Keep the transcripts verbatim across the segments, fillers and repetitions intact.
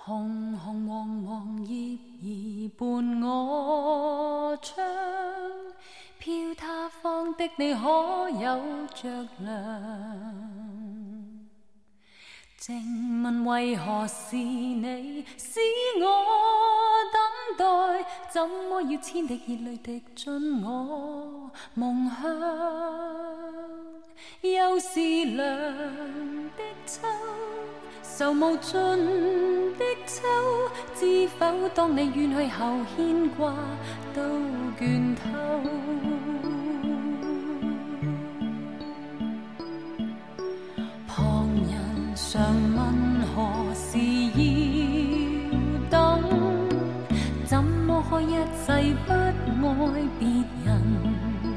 红红黄黄叶儿伴我窗，飘他方的你可有着凉？静问为何是你使我等待？怎么要千滴热泪滴进我梦乡？又是凉的秋，愁无尽的秋，知否当你远去后牵挂都倦透。旁人常问何时要等，怎么可一世不爱别人？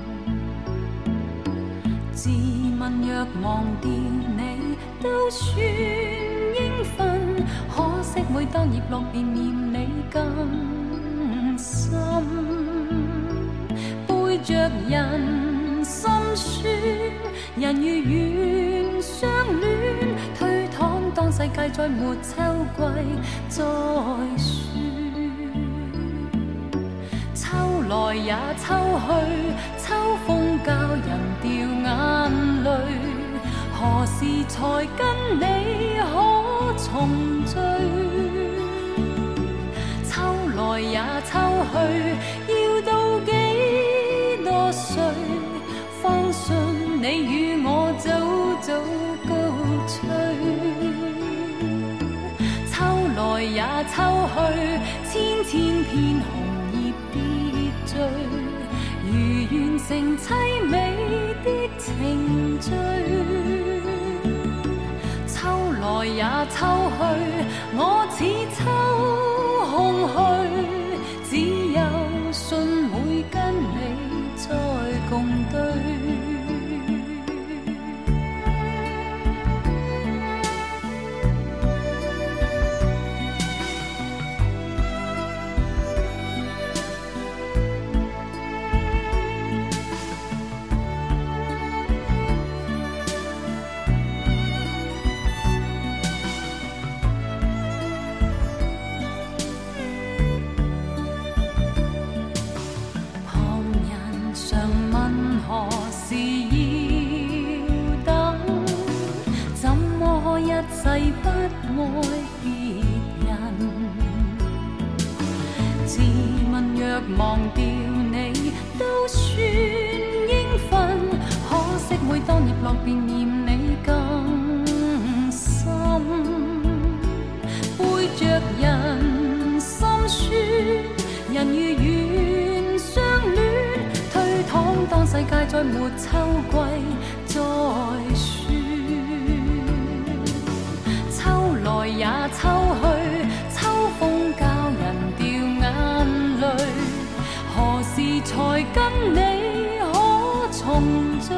自问若忘掉你都算应份，可惜每當葉落便念你更深。背着人心酸，人如願相戀，推搪當世界再沒秋季再說。秋來也秋去，秋風教人掉眼淚，何時才跟你可重聚？秋來也秋去，要到幾多歲，方信你與我早早高吹？秋來也秋去，千千片紅葉跌墜，如完成凄美的程序。秋來也秋去，我似秋空虛，只有信會跟你再共對。何時要等？怎麼可一世不愛別人？自問若忘掉你都算應份，可惜每當葉落便念你更深。背着人心酸，人如願相戀，當世界再沒秋季再說。秋來也秋去，秋風教人掉眼淚，何時才跟你可重聚？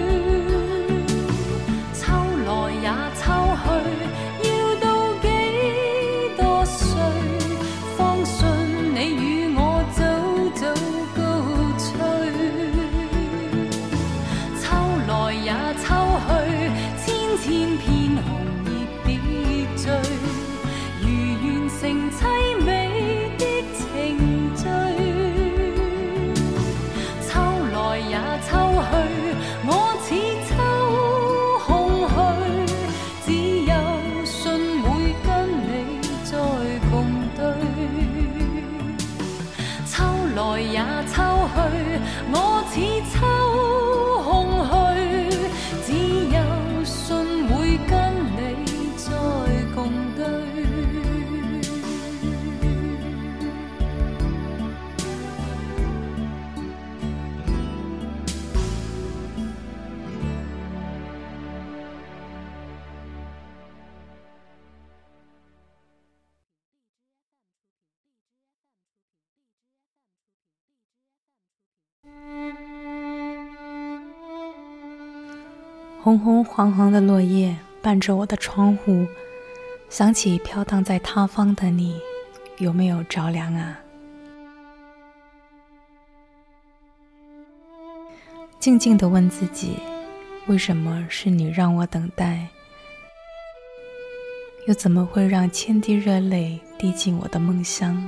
秋來也秋去，要到幾多歲，方信你與我早早高吹？來也秋去，千千片紅葉跌墜，如完成凄美的程序。秋來也秋去，我似秋空虛，只有信會跟你再共對。秋來也秋去，我似秋空虛， 红红黄黄的落叶伴着我的窗户，想起飘荡在他方的你，有没有着凉啊？静静地问自己，为什么是你让我等待？ 又怎么会让千滴热泪滴进我的梦乡？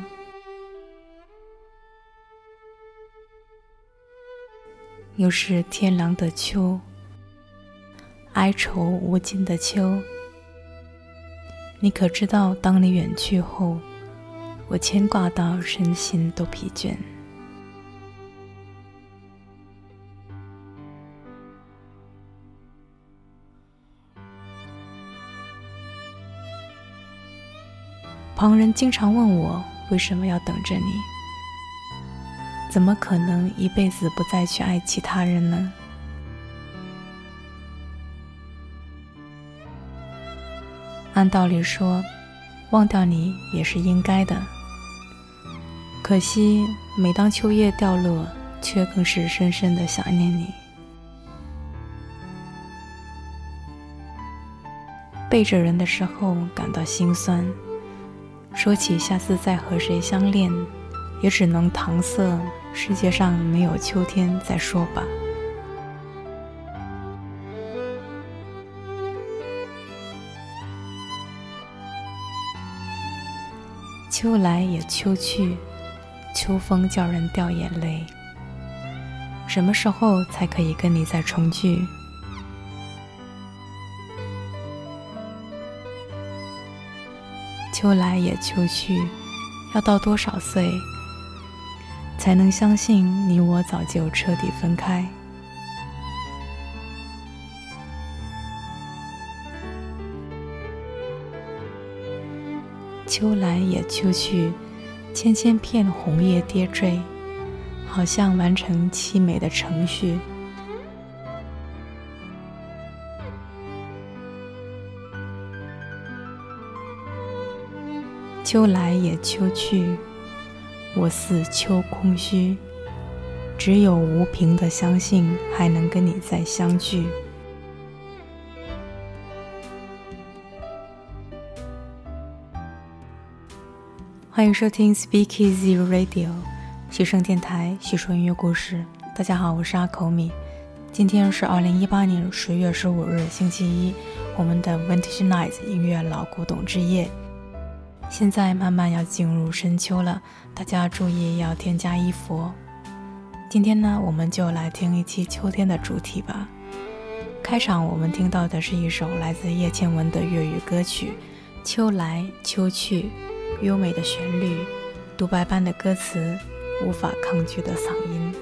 又是天凉的秋，哀愁无尽的秋。你可知道，当你远去后，我牵挂到身心都疲倦。旁人经常问我为什么要等着你，怎么可能一辈子不再去爱其他人呢？按道理说，忘掉你也是应该的，可惜每当秋叶掉落，却更是深深的想念你。背着人的时候感到心酸，说起下次再和谁相恋，也只能搪塞世界上没有秋天再说吧。秋来也秋去，秋风叫人掉眼泪。什么时候才可以跟你再重聚？秋来也秋去，要到多少岁才能相信你我早就彻底分开？秋来也秋去，千千片红叶跌坠，好像完成凄美的程序。秋来也秋去，我似秋空虚，只有无凭的相信还能跟你再相聚。欢迎收听 Speakeasy Radio 许声电台，叙说音乐故事。大家好，我是阿口米。今天是二零一八年十月十五日星期一，我们的 Vintage Nights 音乐老古董之夜。现在慢慢要进入深秋了，大家注意要添加衣服哦。今天呢，我们就来听一期秋天的主题吧。开场我们听到的是一首来自叶倩文的粤语歌曲《秋来秋去》，优美的旋律，独白般的歌词，无法抗拒的嗓音。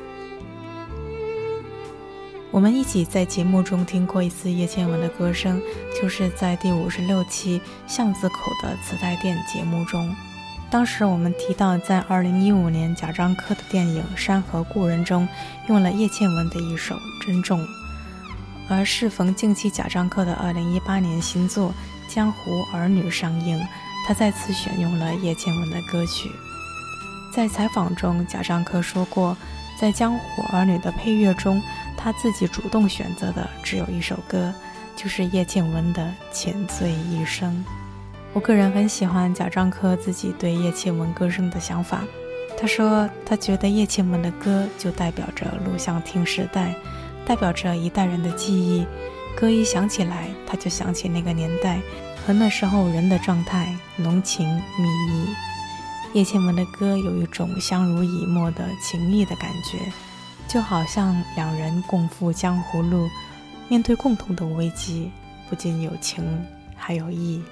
我们一起在节目中听过一次叶倩文的歌声，就是在第五十六期巷子口的磁带店节目中。当时我们提到，在二零一五年贾樟柯的电影《山河故人》中用了叶倩文的一首《珍重》，而适逢近期贾樟柯的二零一八年新作《江湖儿女》上映，他再次选用了叶倩文的歌曲。在采访中，贾樟柯说过，在《江湖儿女》的配乐中，他自己主动选择的只有一首歌，就是叶倩文的《浅醉一生》。我个人很喜欢贾樟柯自己对叶倩文歌声的想法。他说，他觉得叶倩文的歌就代表着录像厅时代，代表着一代人的记忆。歌一响起来，他就想起那个年代和那时候人的状态，浓情蜜意。叶倩文的歌有一种相濡以沫的情谊的感觉，就好像两人共赴江湖路，面对共同的危机，不仅有情还有义。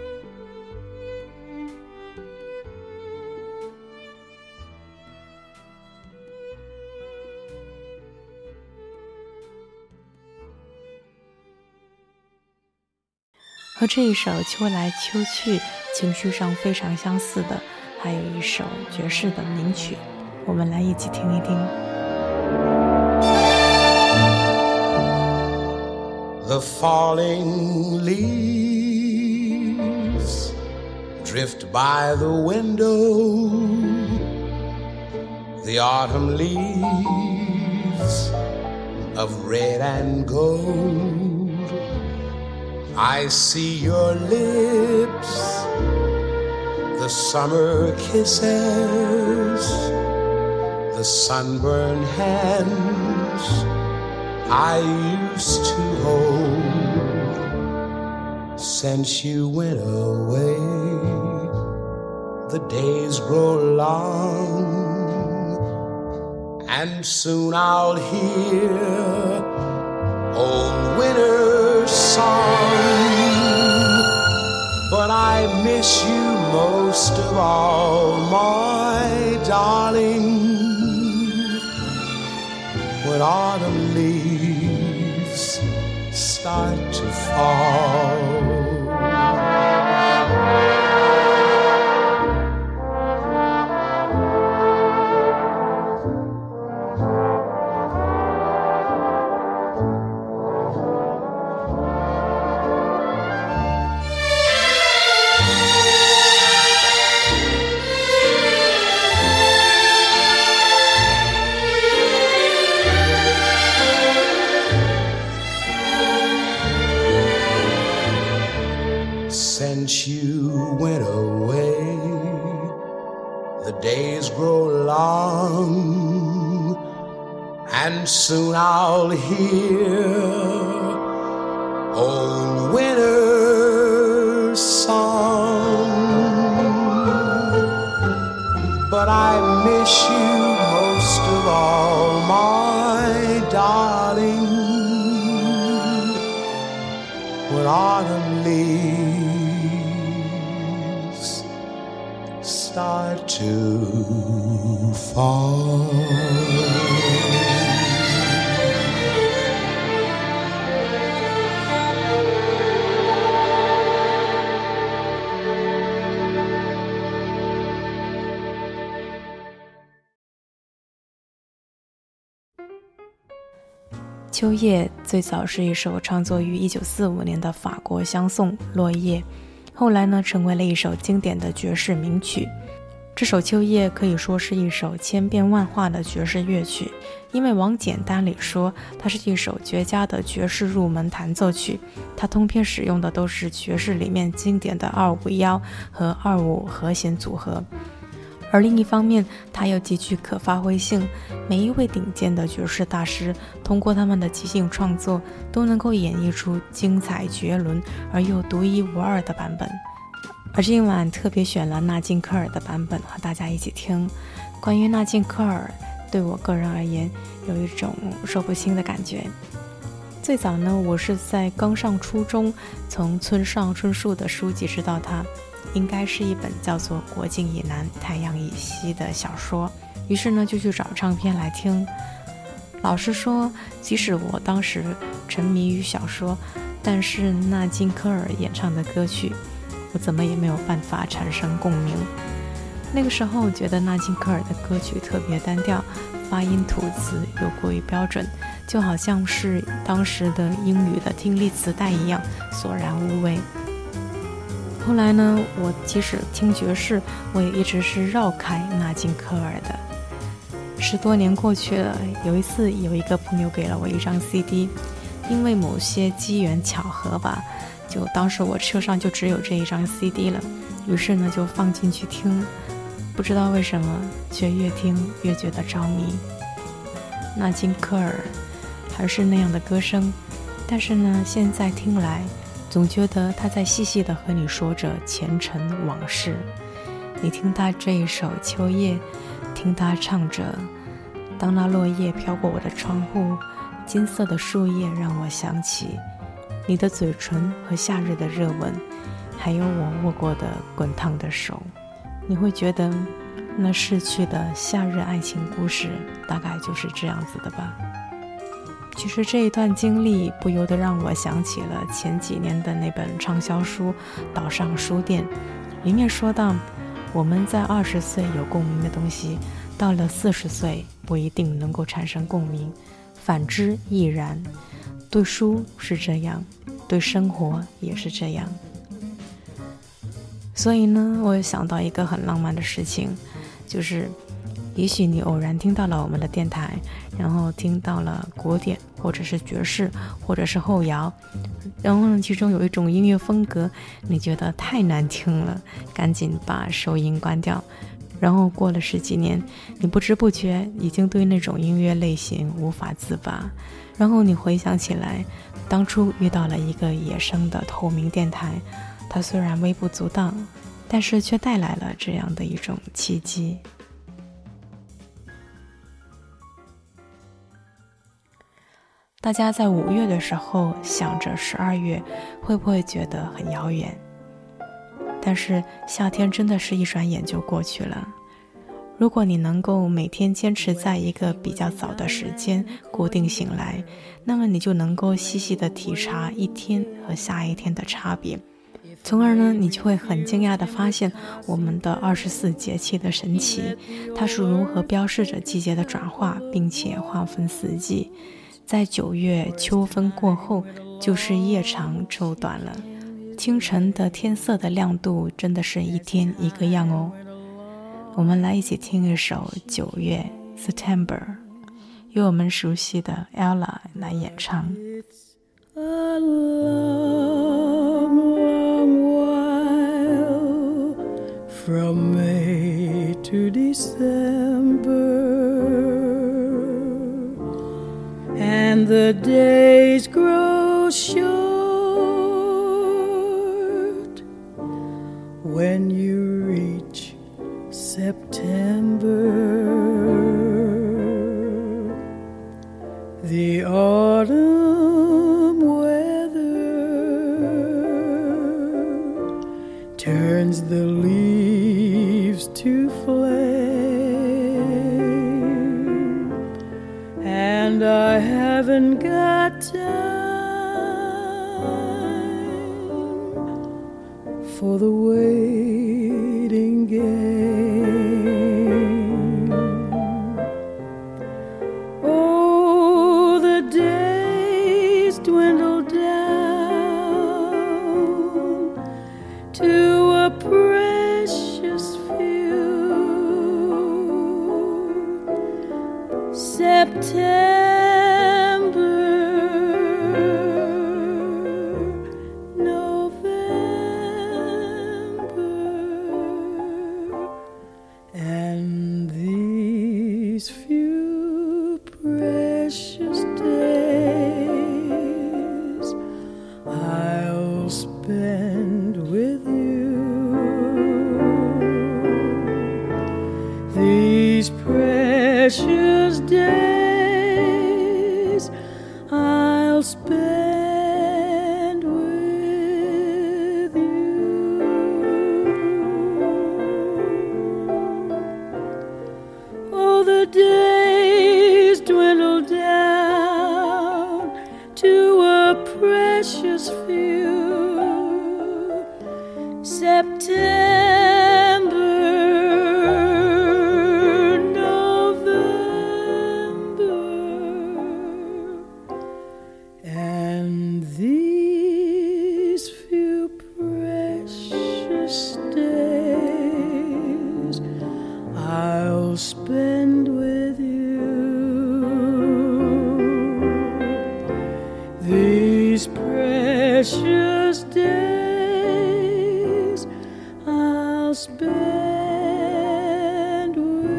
和这一首《秋来秋去》情绪上非常相似的，还有一首爵士的名曲，我们来一起听一听。 The falling leaves drift by the window, the autumn leaves of red and gold.I see your lips, the summer kisses, the sunburned hands I used to hold. since you went away, the days grow long, and soon I'll hear old winter's song. But I miss you most of all, my darling, when autumn leaves start to fall. Since you went away, the days grow long, and soon I'll hear old winter's song. But I miss you most of all, my darling, when autumn leaves start to fall. 秋叶最早是一首创作于一九四五年的法国香颂《落叶》，后来呢成为了一首经典的爵士名曲。这首秋叶可以说是一首千变万化的爵士乐曲，因为往简单里说，它是一首绝佳的爵士入门弹奏曲。它通篇使用的都是爵士里面经典的二五一和二五和弦组合。而另一方面，它又极具可发挥性，每一位顶尖的爵士大师通过他们的即兴创作，都能够演绎出精彩绝伦而又独一无二的版本。而今晚特别选了纳金科尔的版本和大家一起听。关于纳金科尔，对我个人而言有一种说不清的感觉。最早呢，我是在刚上初中，从村上春树的书籍知道他，应该是一本叫做《国境以南，太阳以西》的小说，于是呢就去找唱片来听。老实说，即使我当时沉迷于小说，但是纳金科尔演唱的歌曲，我怎么也没有办法产生共鸣。那个时候觉得纳金科尔的歌曲特别单调，发音吐词又过于标准，就好像是当时的英语的听力磁带一样，索然无味。后来呢，我即使听爵士，我也一直是绕开纳金科尔的。十多年过去了，有一次有一个朋友给了我一张 C D， 因为某些机缘巧合吧，就当时我车上就只有这一张 C D 了，于是呢就放进去听，不知道为什么，却越听越觉得着迷。纳金科尔还是那样的歌声，但是呢，现在听来，总觉得他在细细地和你说着前尘往事。你听他这一首《秋叶》，听他唱着当那落叶飘过我的窗户，金色的树叶让我想起你的嘴唇和夏日的热吻，还有我握过的滚烫的手。你会觉得那逝去的夏日爱情故事大概就是这样子的吧。其实这一段经历不由得让我想起了前几年的那本畅销书《岛上书店》，里面说到，我们在二十岁有共鸣的东西，到了四十岁不一定能够产生共鸣，反之亦然。对书是这样，对生活也是这样。所以呢，我想到一个很浪漫的事情，就是也许你偶然听到了我们的电台，然后听到了古典或者是爵士或者是后摇，然后呢其中有一种音乐风格你觉得太难听了，赶紧把收音关掉， 然后过了十几年，你不知不觉已经对那种音乐类型无法自拔，然后你回想起来，当初遇到了一个野生的透明电台，它虽然微不足道，但是却带来了这样的一种契机。大家在五月的时候想着十二月，会不会觉得很遥远？但是夏天真的是一转眼就过去了。如果你能够每天坚持在一个比较早的时间固定醒来，那么你就能够细细的体察一天和下一天的差别，从而呢，你就会很惊讶地发现我们的二十四节气的神奇，它是如何标示着季节的转化，并且划分四季。在九月秋分过后，就是夜长昼短了。清晨的天色的亮度真的是一天一个样哦。我们来一起听一首九月 September， 由我们熟悉的 Ella 来演唱。 A long, long while from May to December, and the days grow short when you reach September. The autumn weather turns the leaves to flame, and I haven't got time for the waiting game. Oh, the days dwindle down to a precious few. September, and these few precious days I'll spend with you. These precious days I'll spend with you. Oh, the days dwindle down to a precious few. September, November, and these few precious days I'll spend with you. These precious days I'll spend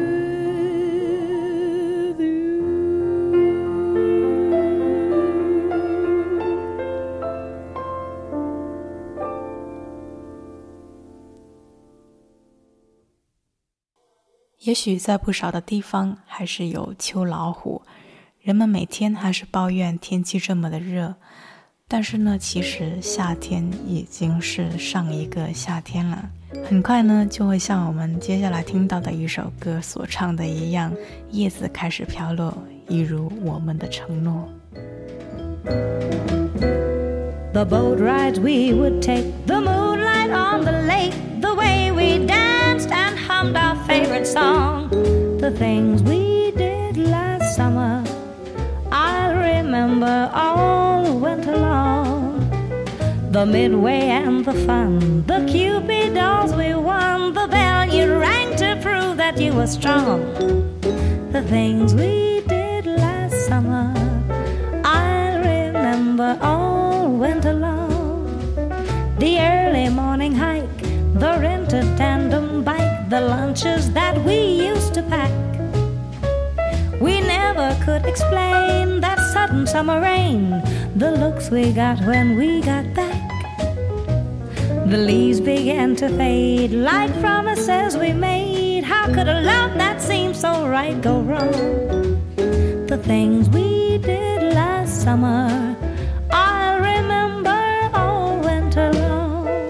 with you. 也许在不少的地方还是有秋老虎，人们每天还是抱怨天气这么的热，但是呢，其实夏天已经是上一个夏天了。很快呢，就会像我们接下来听到的一首歌所唱的一样，叶子开始飘落，一如我们的承诺。 The boat rides we would take, the moonlight on the lake, the way we danced and hummed our favorite song, the things we did last summer, I'll remember all winter long. The midway and the fun, the Cupid dolls we won, the bell you rang to prove that you were strong, the things we did last summer, I'll remember all winter long. The early morning hike, the rented tandem bike, the lunches that we used to pack. We never could explain that sudden summer rain, the looks we got when we got back. The leaves began to fade like promises we made. How could a love that seemed so right go wrong? The things we did last summer, I'll remember all winter long.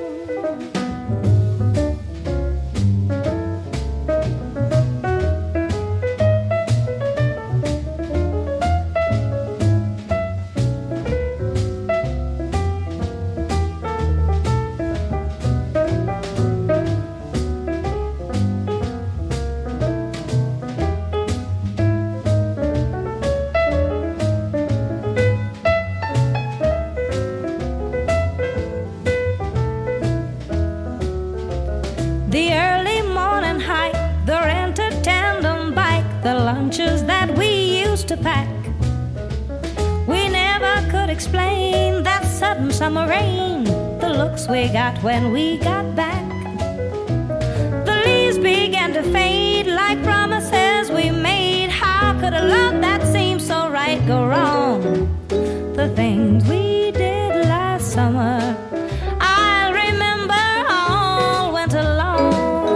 The early morning hike, the rented tandem bike, the lunches that we used to pack. We never could explain that sudden summer rain, the looks we got when we got back. The leaves began to fade like promises we made. How could a love that seemed so right go wrong? The things we did last summer, I'll remember all winter long.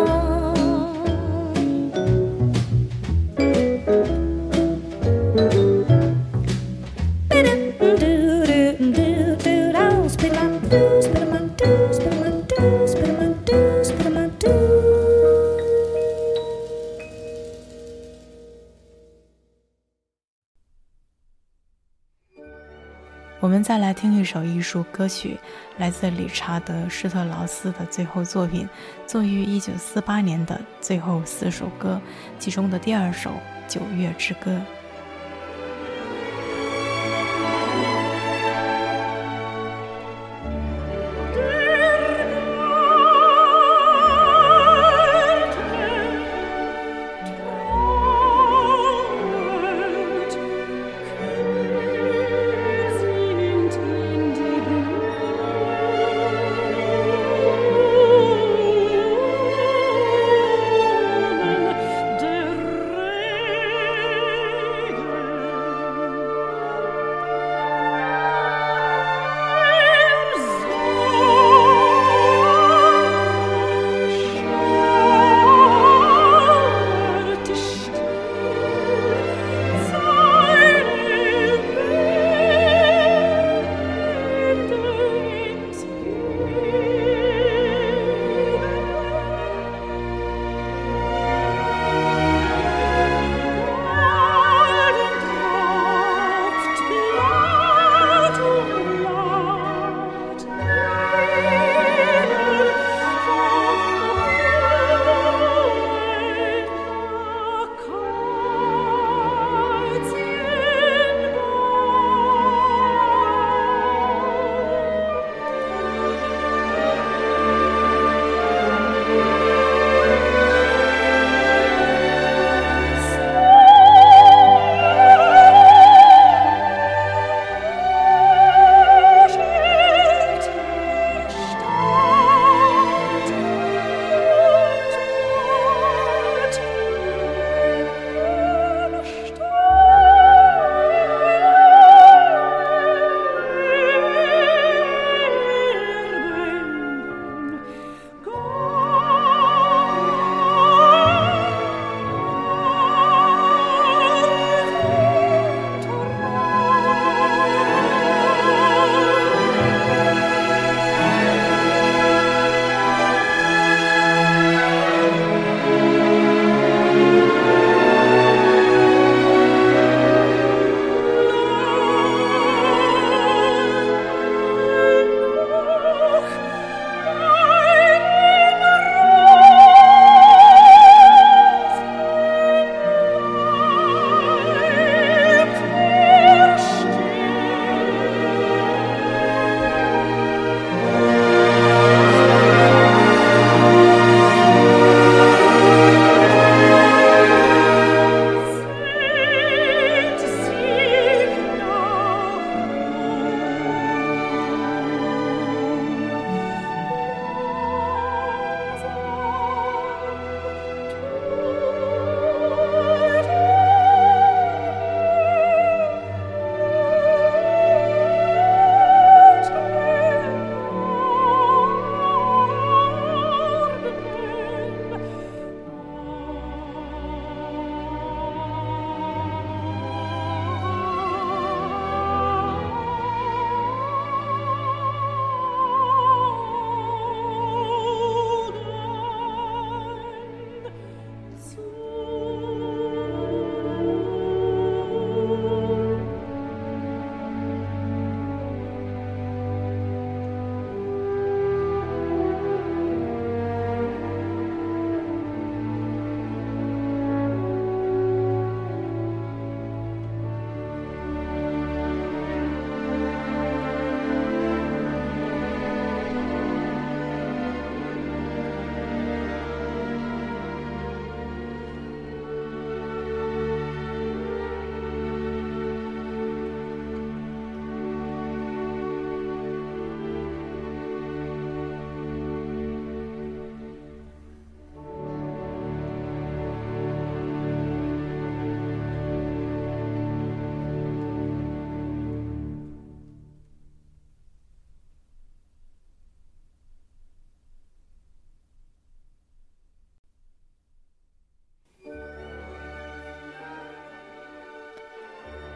我们再来听一首艺术歌曲，来自理查德·施特劳斯的最后作品，作于一九四八年的最后四首歌，其中的第二首《九月之歌》。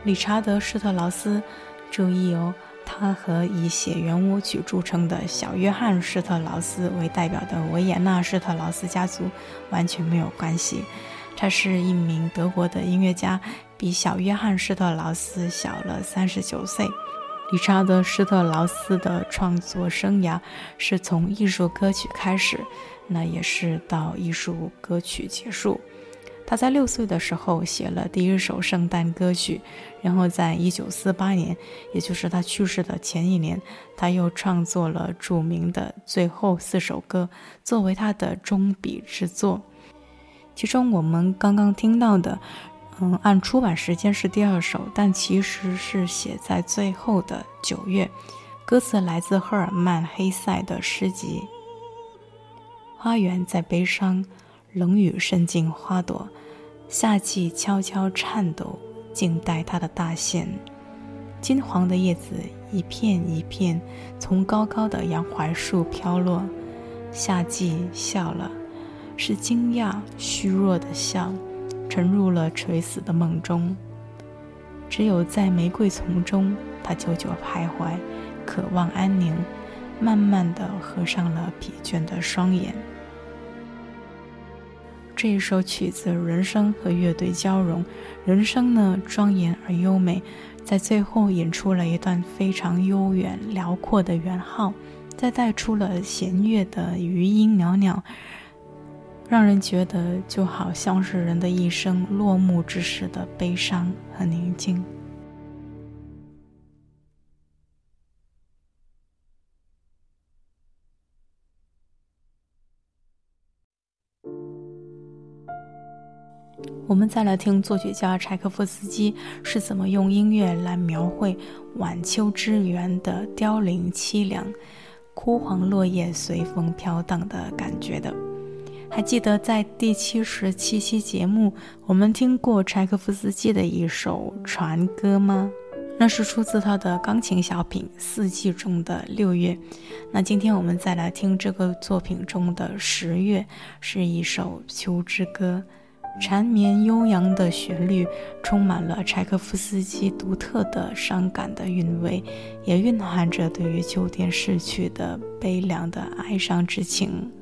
理查德·施特劳斯，注意哦，他和以写圆舞曲著称的小约翰·施特劳斯为代表的维也纳施特劳斯家族完全没有关系。他是一名德国的音乐家，比小约翰·施特劳斯小了三十九岁。理查德·施特劳斯的创作生涯是从艺术歌曲开始，那也是到艺术歌曲结束。他在六岁的时候写了第一首圣诞歌曲，然后在一九四八年，也就是他去世的前一年，他又创作了著名的最后四首歌，作为他的终笔之作。其中我们刚刚听到的嗯，按出版时间是第二首，但其实是写在最后的九月。歌词来自赫尔曼·黑塞的诗集。花园在悲伤，冷雨渗进花朵，夏季悄悄颤抖，静待它的大现。金黄的叶子一片一片从高高的洋槐树飘落。夏季笑了，是惊讶虚弱的笑，沉入了垂死的梦中。只有在玫瑰丛中，他久久徘徊，渴望安宁，慢慢地合上了疲倦的双眼。这一首曲子，人声和乐队交融，人声呢庄严而优美，在最后引出了一段非常悠远辽阔的圆号，再带出了弦乐的余音袅袅，让人觉得就好像是人的一生落幕之时的悲伤和宁静。我们再来听作曲家柴可夫斯基是怎么用音乐来描绘晚秋之园的凋零凄凉，枯黄落叶随风飘荡的感觉的。还记得在第七十七期节目我们听过柴可夫斯基的一首船歌吗？那是出自他的钢琴小品《四季》中的六月。那今天我们再来听这个作品中的十月，是一首秋之歌。缠绵悠扬的旋律充满了柴可夫斯基独特的伤感的韵味，也蕴含着对于秋天逝去的悲凉的哀伤之情。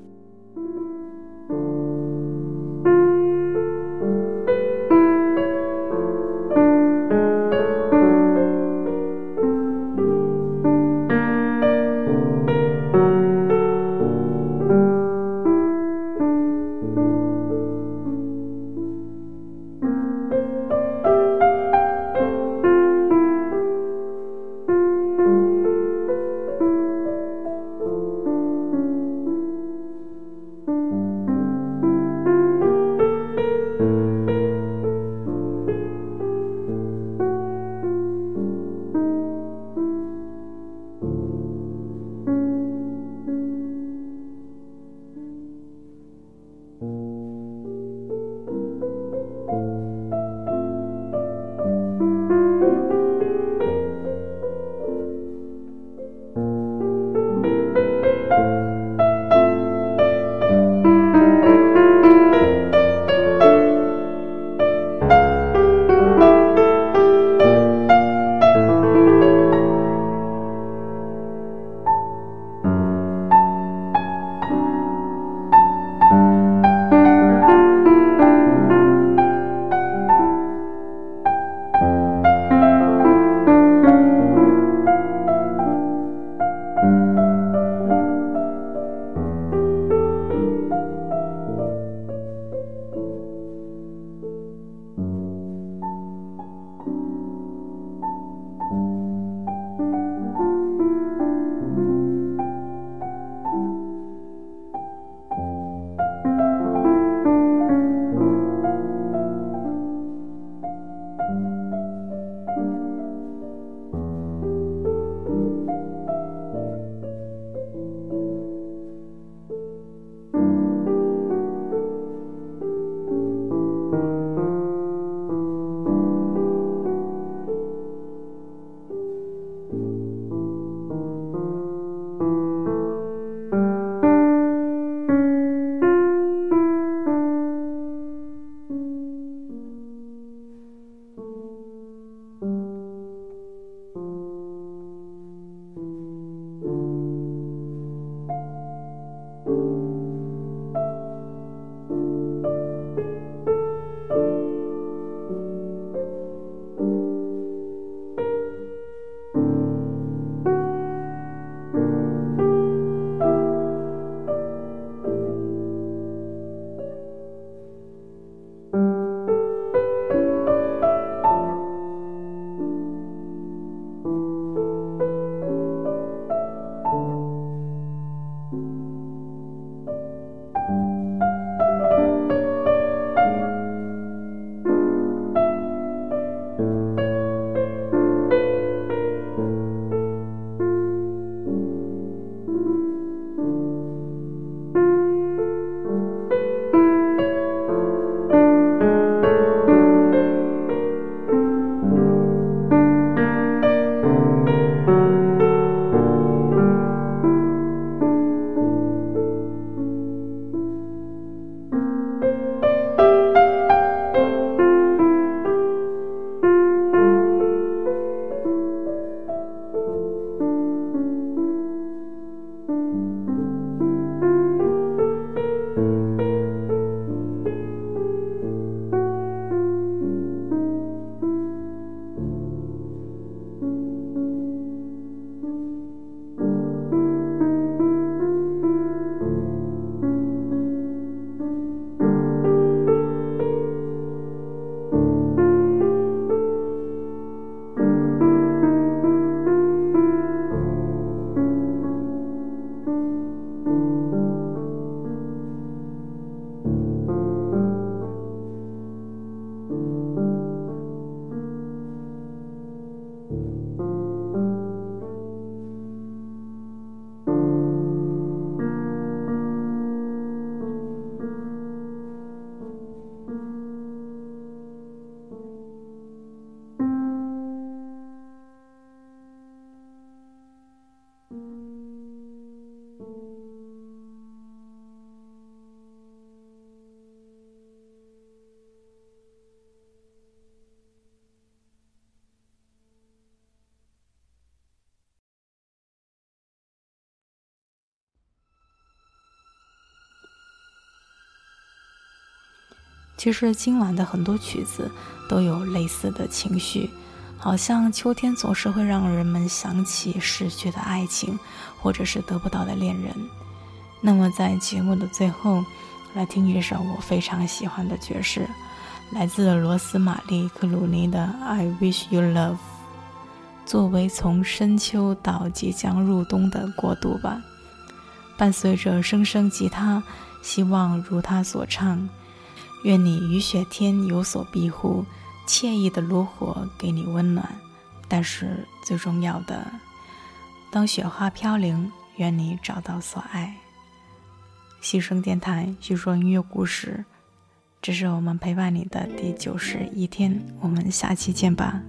其实今晚的很多曲子都有类似的情绪，好像秋天总是会让人们想起逝去的爱情，或者是得不到的恋人。那么在节目的最后，来听一首我非常喜欢的爵士，来自罗斯玛丽·克鲁尼的 I Wish You Love， 作为从深秋到即将入冬的过渡吧。伴随着声声吉他，希望如他所唱，愿你雨雪天有所庇护，惬意的炉火给你温暖，但是最重要的，当雪花飘零，愿你找到所爱。牺牲电台叙说音乐故事，这是我们陪伴你的第九十一天，我们下期见吧。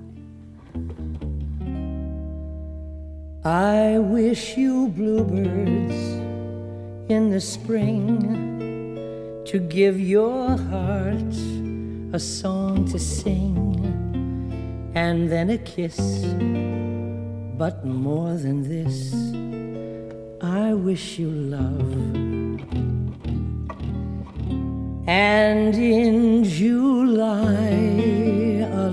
I wish you bluebirds in the spring to give your heart a song to sing, and then a kiss. But more than this, I wish you love. And in July, a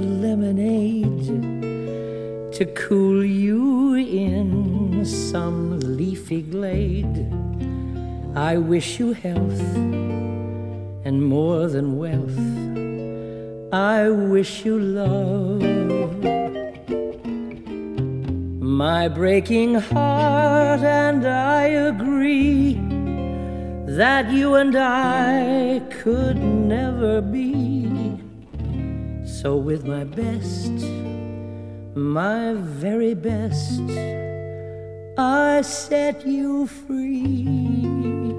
lemonade to cool you in some leafy glade. I wish you health and more than wealth. I wish you love. My breaking heart and I agree that you and I could never be. So with my best, my very best, I set you free.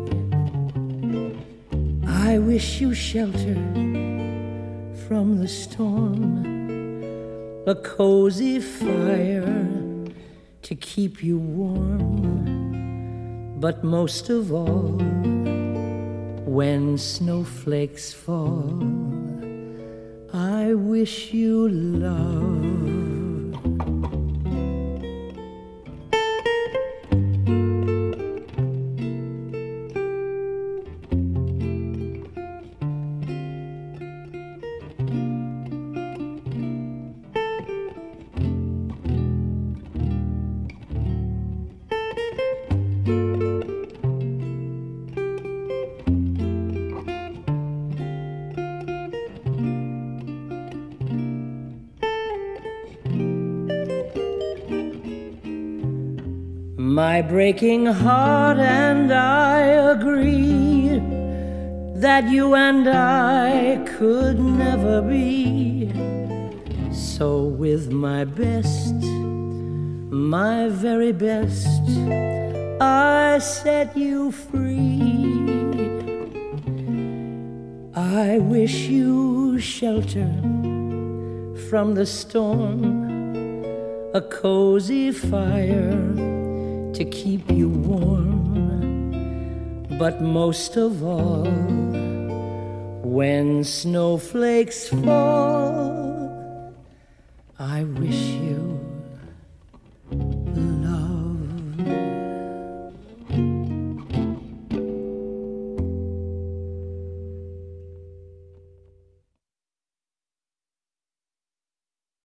I wish you shelter from the storm, a cozy fire to keep you warm, but most of all, when snowflakes fall, I wish you love. My breaking heart and I agree that you and I could never be. So with my best, my very best, I set you free. I wish you shelter from the storm, a cozy fire to keep you warm, but most of all, when snowflakes fall, I wish you